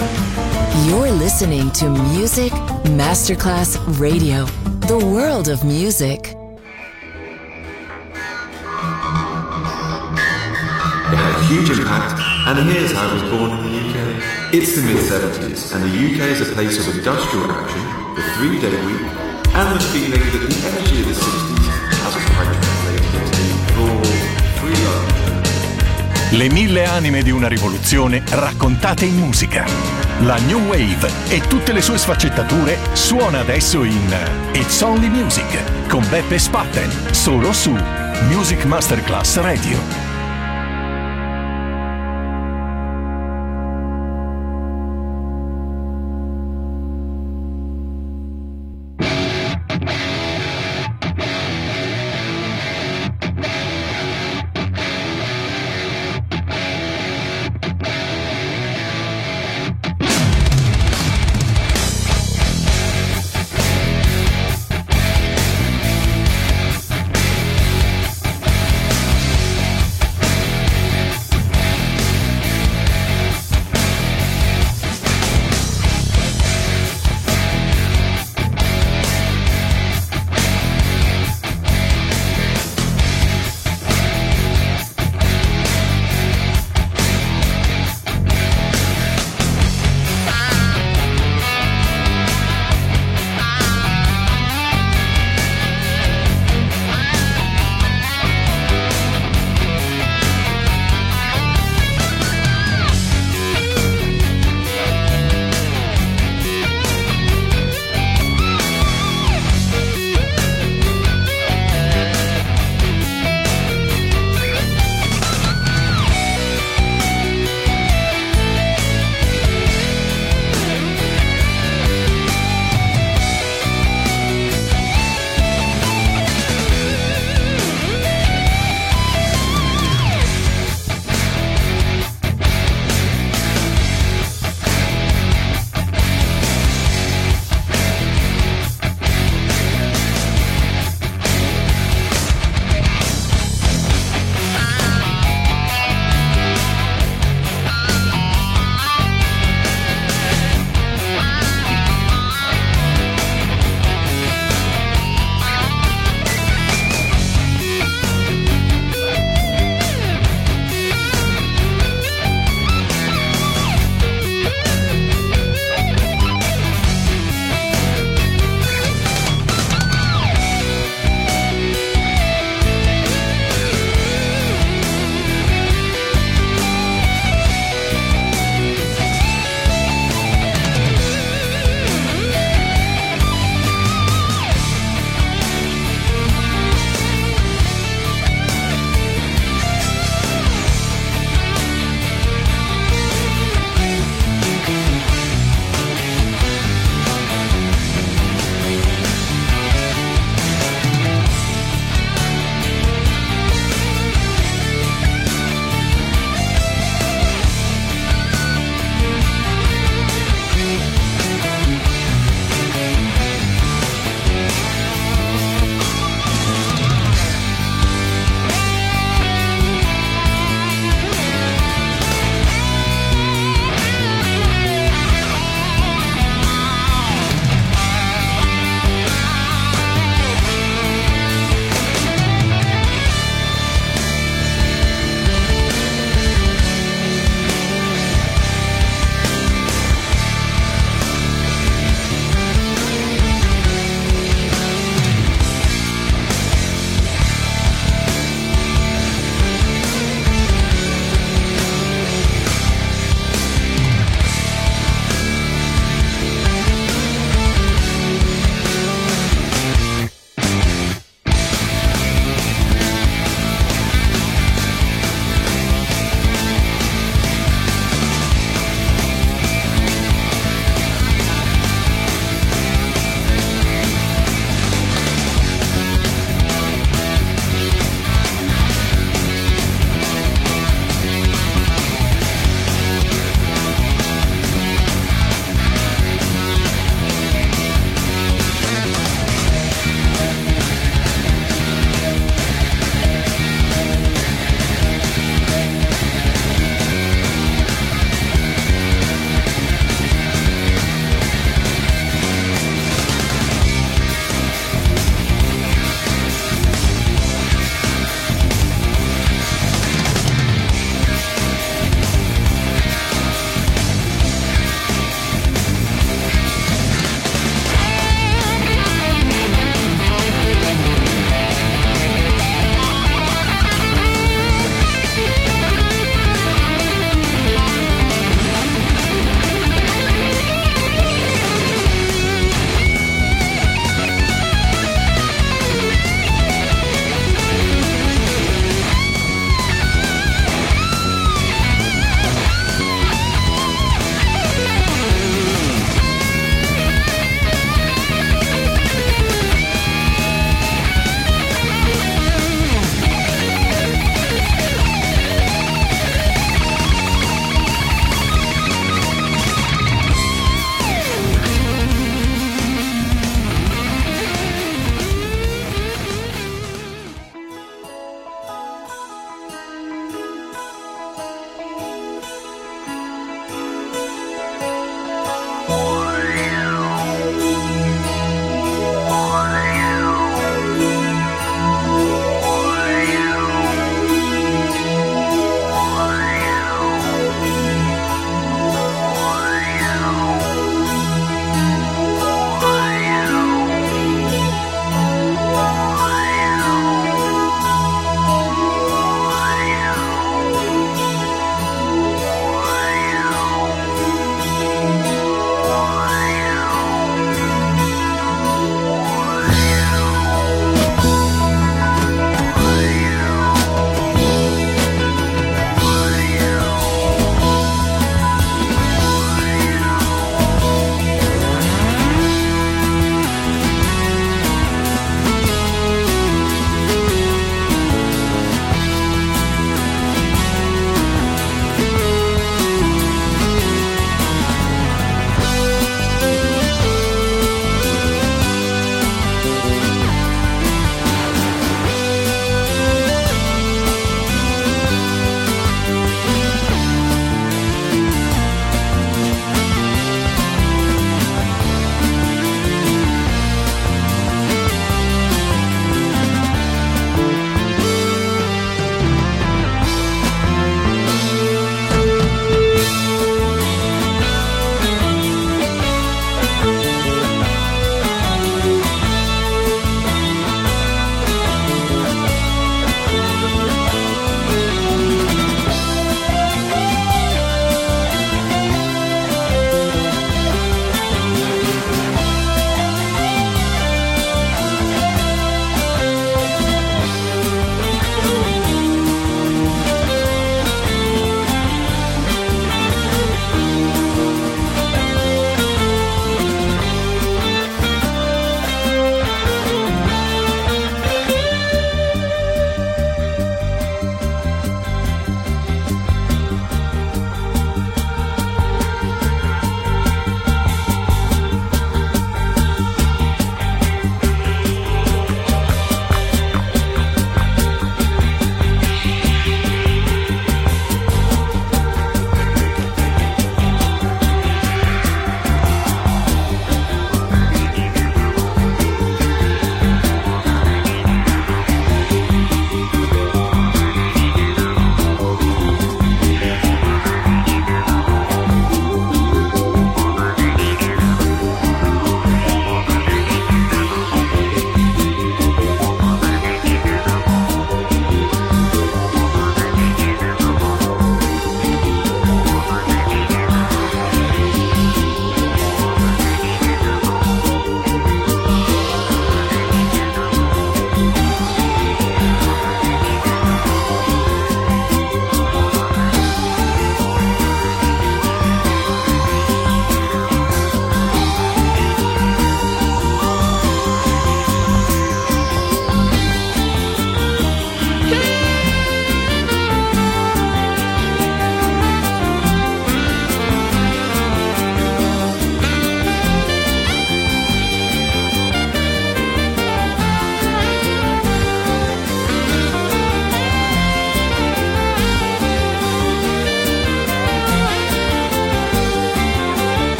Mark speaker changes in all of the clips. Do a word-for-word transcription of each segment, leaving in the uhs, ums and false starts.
Speaker 1: You're listening to Music Masterclass Radio, the world of music.
Speaker 2: It had a huge impact, and here's how it was born in the U K. It's the mid-seventies, and the U K is a place of industrial action, the three-day week, and the feeling that the energy of the sixties hasn't quite translated into raw, free love.
Speaker 3: Le mille anime di una rivoluzione raccontate in musica. La New Wave e tutte le sue sfaccettature suona adesso in It's Only Music con Beppe Spatten, solo su Music Masterclass Radio.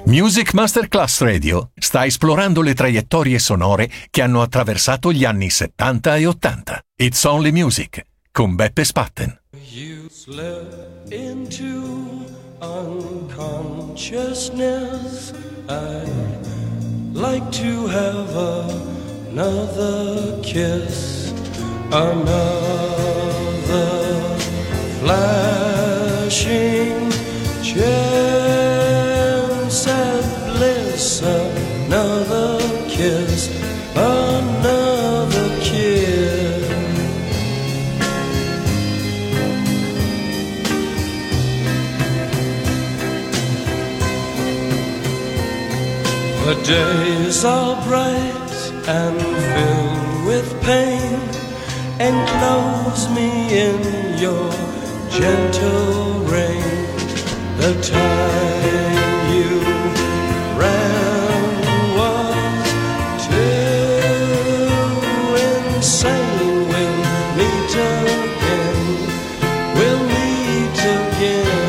Speaker 3: Music Masterclass Radio sta esplorando le traiettorie sonore che hanno attraversato gli anni settanta e ottanta. It's Only Music con Beppe Spatten.
Speaker 4: You slip into unconsciousness. I'd like to have another kiss, another flashing chance at bliss, another kiss, another kiss. The days are bright and filled with pain. Enclose me in your gentle rain. The time you ran was too insane. We'll meet again. We'll meet again.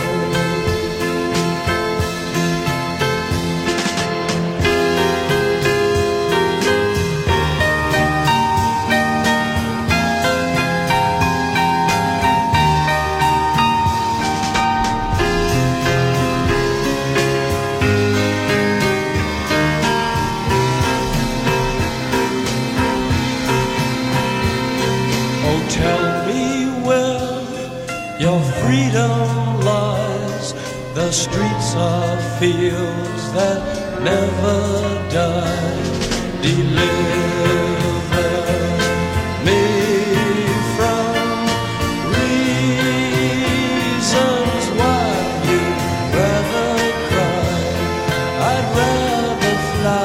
Speaker 4: Freedom lies, the streets are fields that never die. Deliver me from reasons why you'd rather cry, I'd rather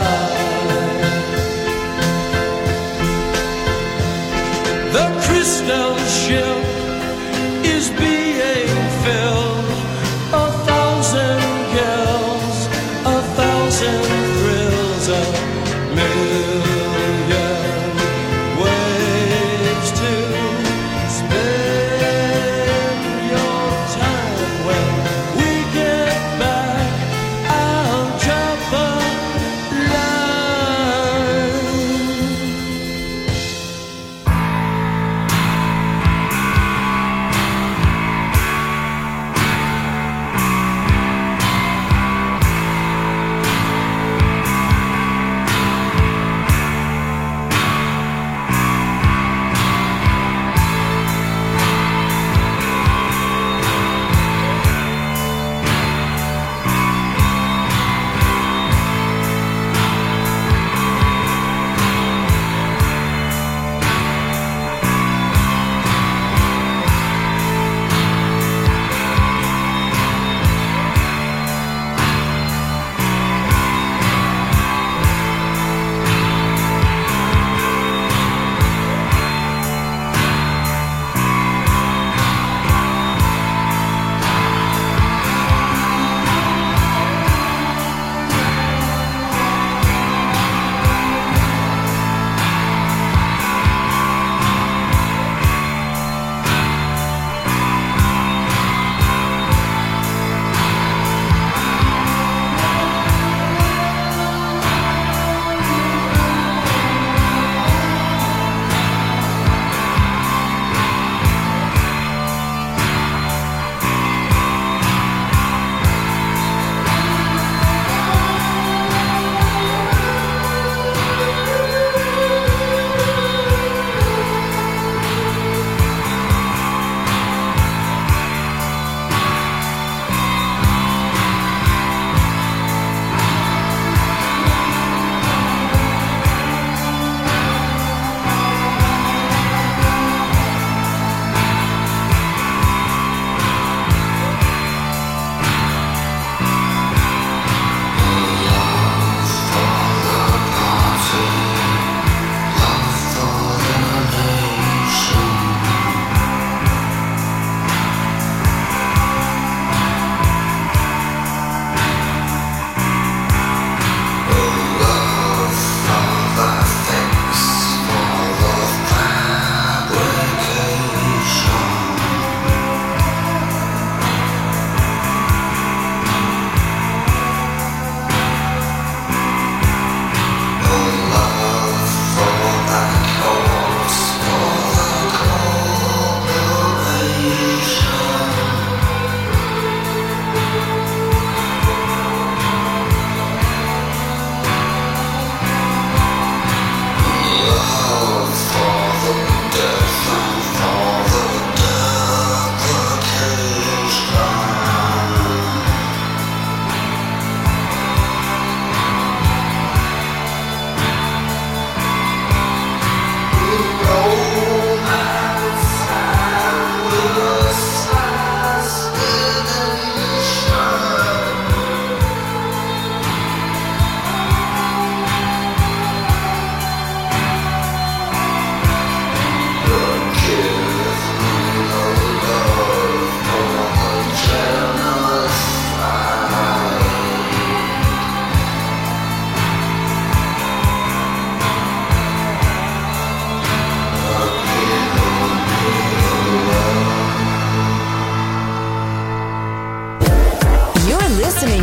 Speaker 4: fly. The crystal ship is being filled, a thousand girls, a thousand thrills, a million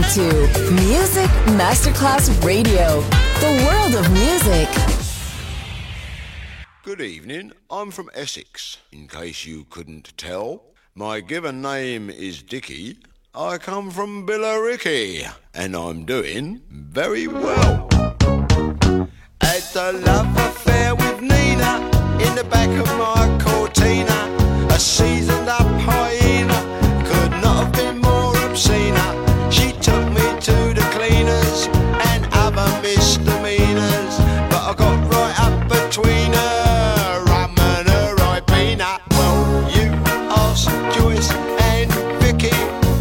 Speaker 1: to Music Masterclass Radio, the world of music.
Speaker 5: Good evening, I'm from Essex, in case you couldn't tell. My given name is Dickie. I come from Billericay, and I'm doing very well. Had a love affair with Nina, in the back of my Cortina. A seasoned up hyena, could not have been more obscene. She took me to the cleaners and other misdemeanors, but I got right up between her, rum and her Ribena. Well, you asked Joyce and Vicky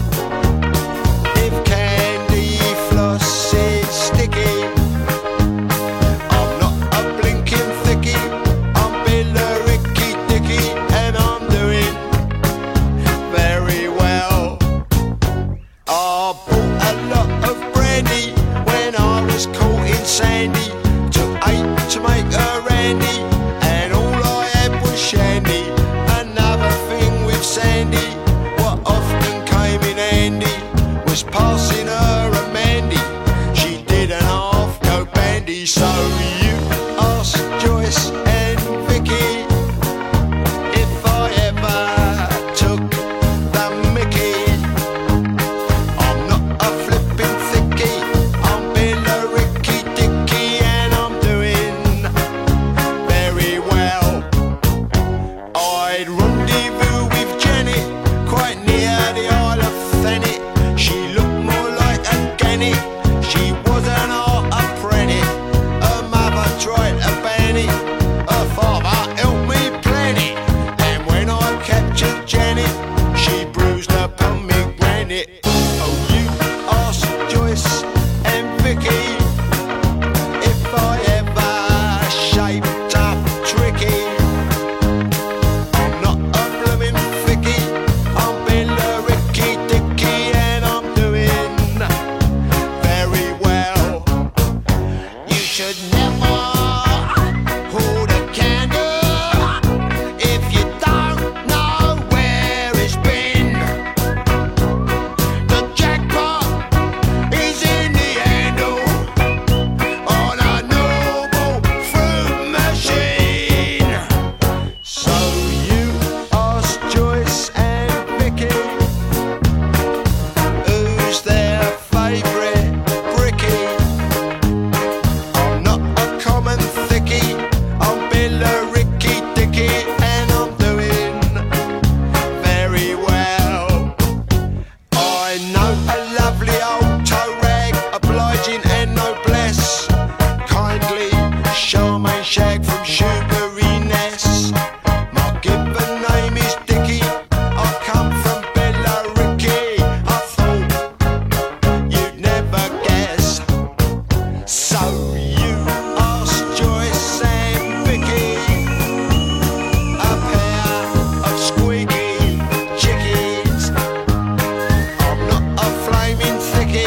Speaker 5: if candy floss is sticky. I'm not a blinking thickie, I'm Billericay Dickie, and I'm doing very well. I bought a lot of brandy when I was caught in Sandy. Took eight to make a randy, and all I had was shandy. Another thing with Sandy, what often came in handy, was passing her a Mandy. She did an half go bandy. So you asked Joyce and Vicky if I ever took the Mickey. I'm not a flippin' thickie, I'm Billericay Dickie, and I'm doing very well. I'd rendezvous with Janet, quite near the Isle of Thanet. She looked more like a gannet, she wasn't half a prenny. Her mother tried to ban it, her father helped me plan it, and when I captured Janet, she bruised her pomegranate. Oh, you asked Joyce and Vicky if I ever shaped up tricky. I'm not a bloomin' thickie, I'm Billericay Dickie, and I'm doing very well. You should never hold a candle if you don't know where it's been. The jackpot is in the handle on a noble fruit machine. So you asked Joyce and Vicky who's their favourite brickie. I'm not a common thickie, I'm Billericay Dickie, and I'm doing very well. I know a lovely old toe rag, obliging and noblesse, kindly Charmaine Shag from Shoebury-Ness. My given name is Dickie, I come from Billericay. I thought you'd never guess. So you asked Joyce and Vicky, a pair of squeaky chickies. I'm not a flaming thickie,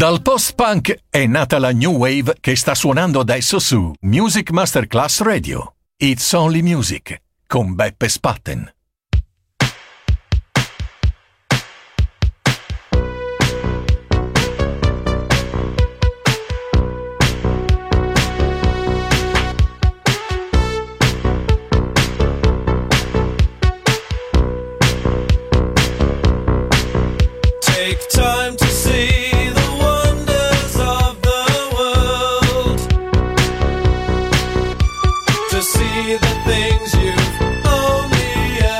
Speaker 3: Dal post-punk è nata la new wave che sta suonando adesso su Music Masterclass Radio. It's Only Music con Beppe Spatten.
Speaker 4: Take time to see the wonders of the world, to see the things you've only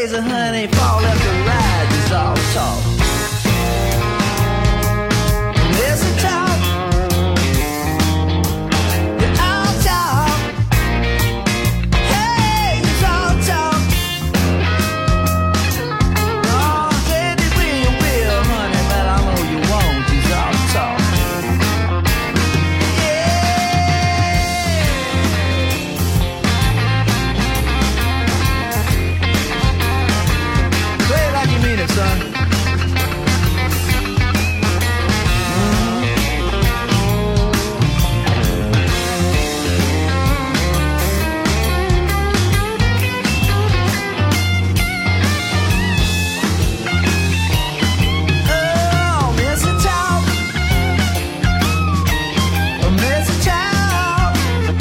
Speaker 6: crazy, honey. Fall left and right, it's all talk. Listen, talk. You're all talk. Hey, it's all talk. Oh, said you will, you will, honey, but I know you won't. It's all talk. Play it like you mean it, son. Oh, Mister Talk. Oh, Mister Talk.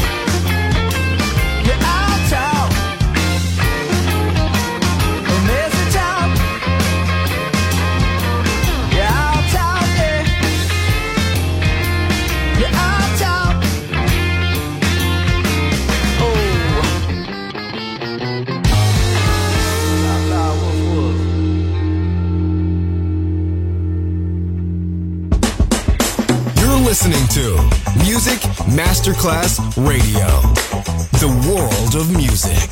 Speaker 6: You all talk. Oh, Mister Talk. You all talk, yeah. You all talk. Oh. Loud, loud, woof, woof.
Speaker 7: You're listening to Music Masterclass Radio, the world of music.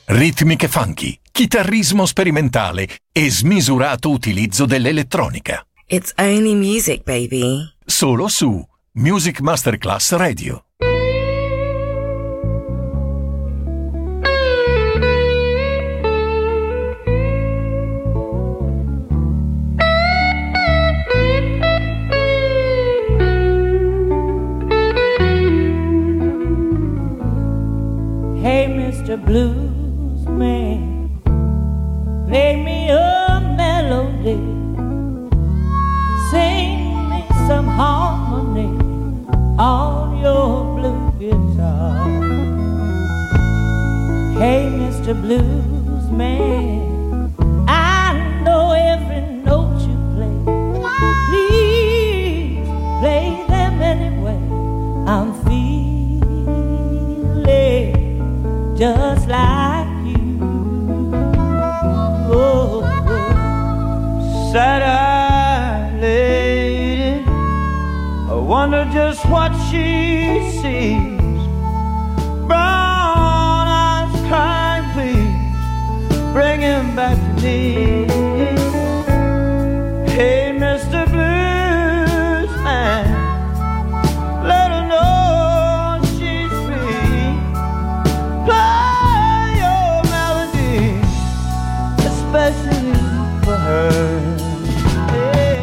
Speaker 3: ritmiche funky, chitarrismo sperimentale e smisurato utilizzo dell'elettronica.
Speaker 8: It's only music, baby.
Speaker 3: Solo su Music Masterclass Radio.
Speaker 9: Hey, Mister Blues Man, play me a melody, sing me some harmony on your blue guitar. Hey, Mister Blues Man, I know every note you play. Please play them anyway. I'm feeling just like you. Oh, oh. Sad-eyed lady, I wonder just what she sees. Brown eyes crying, please bring him back to me. Hey, Mister Blues Man, let her know she's free. Play your melody, especially for her. Hey.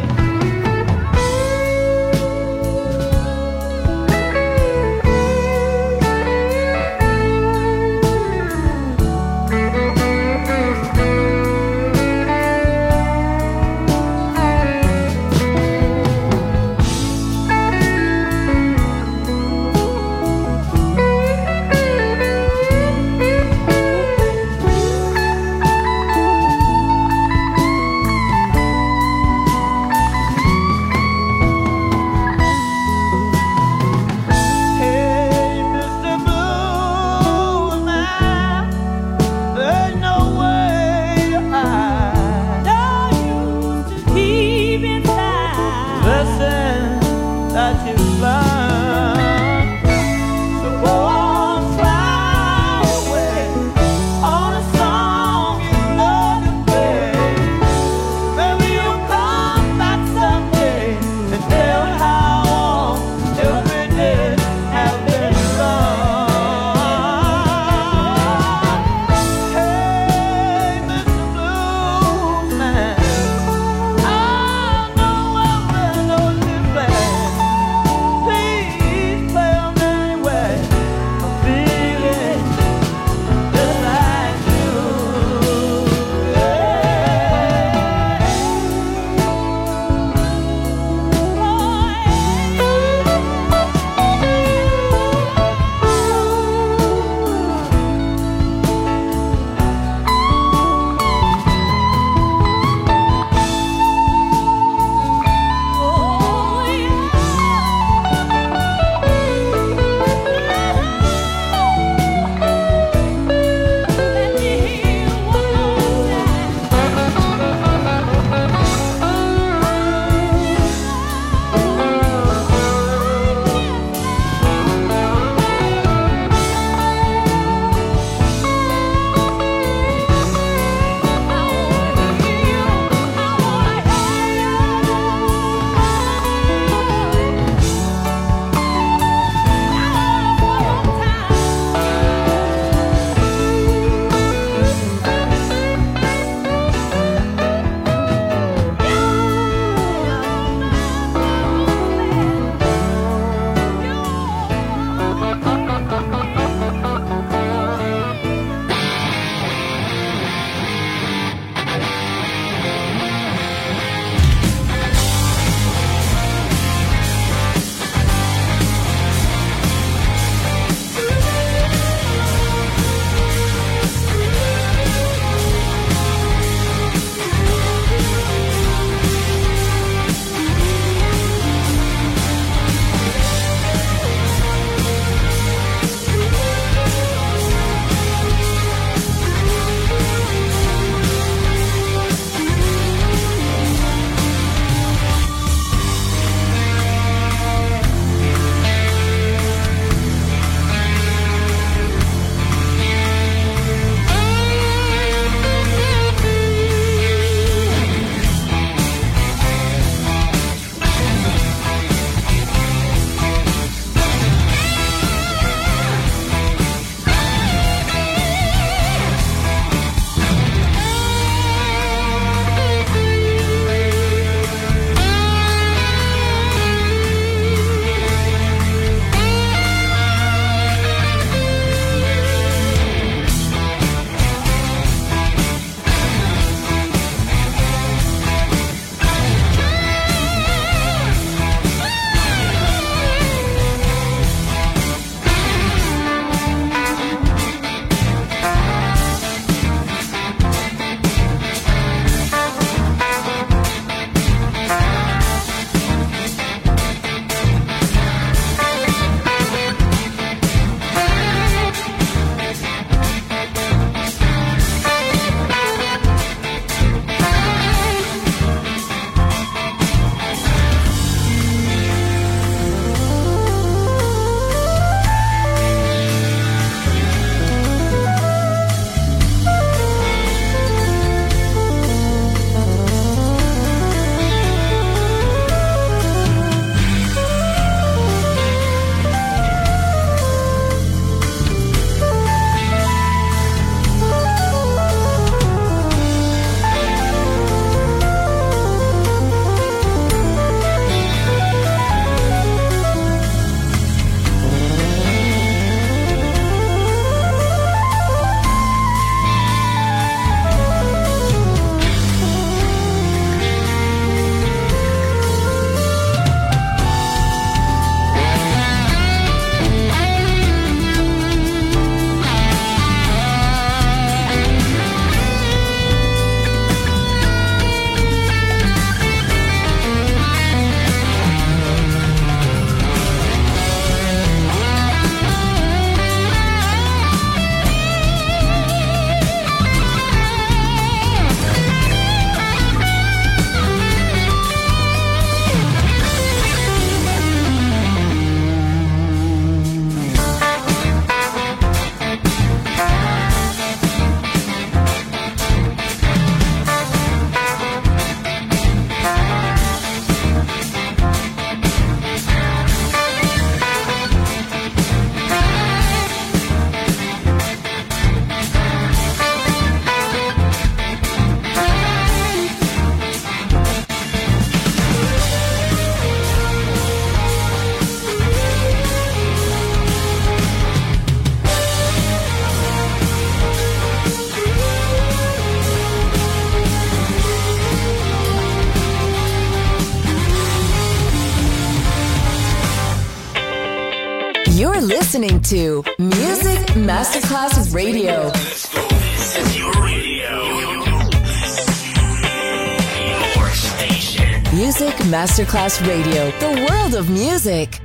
Speaker 1: listening to Music Masterclass Radio.
Speaker 10: Let's go. This is your radio. Your station.
Speaker 1: Music Masterclass Radio. The world of music.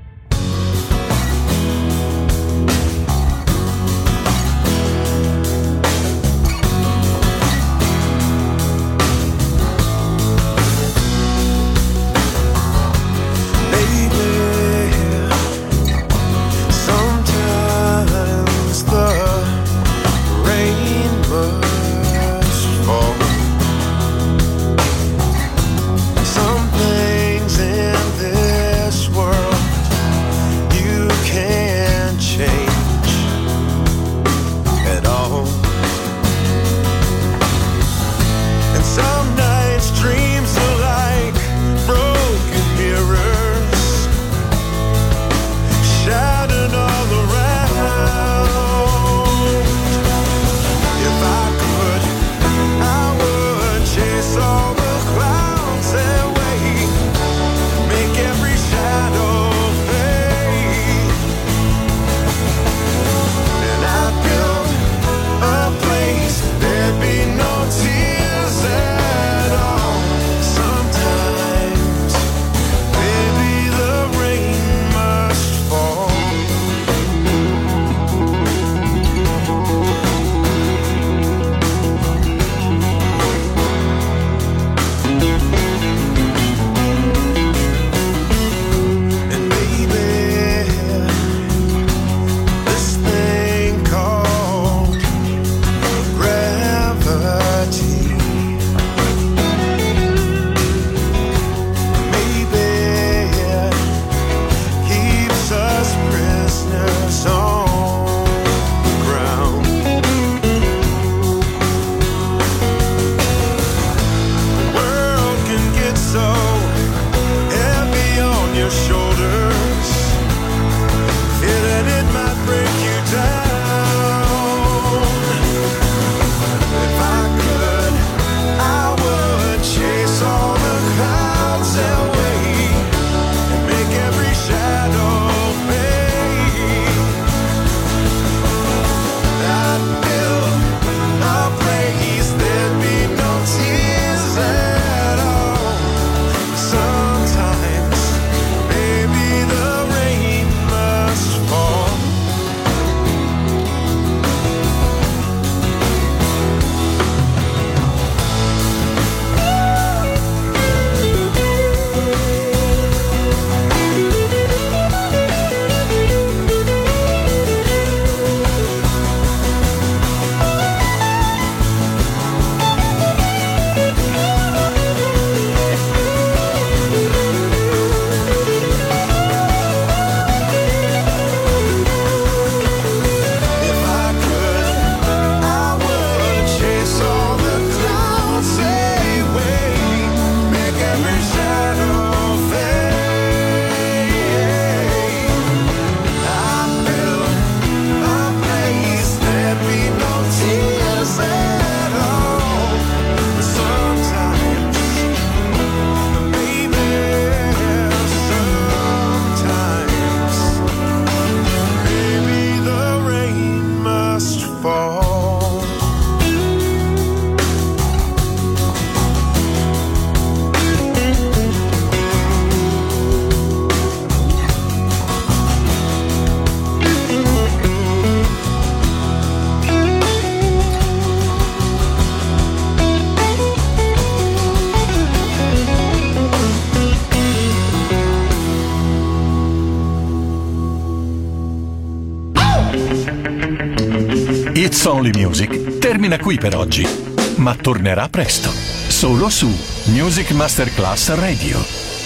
Speaker 3: It's Only Music termina qui per oggi, ma tornerà presto, solo su Music Masterclass Radio.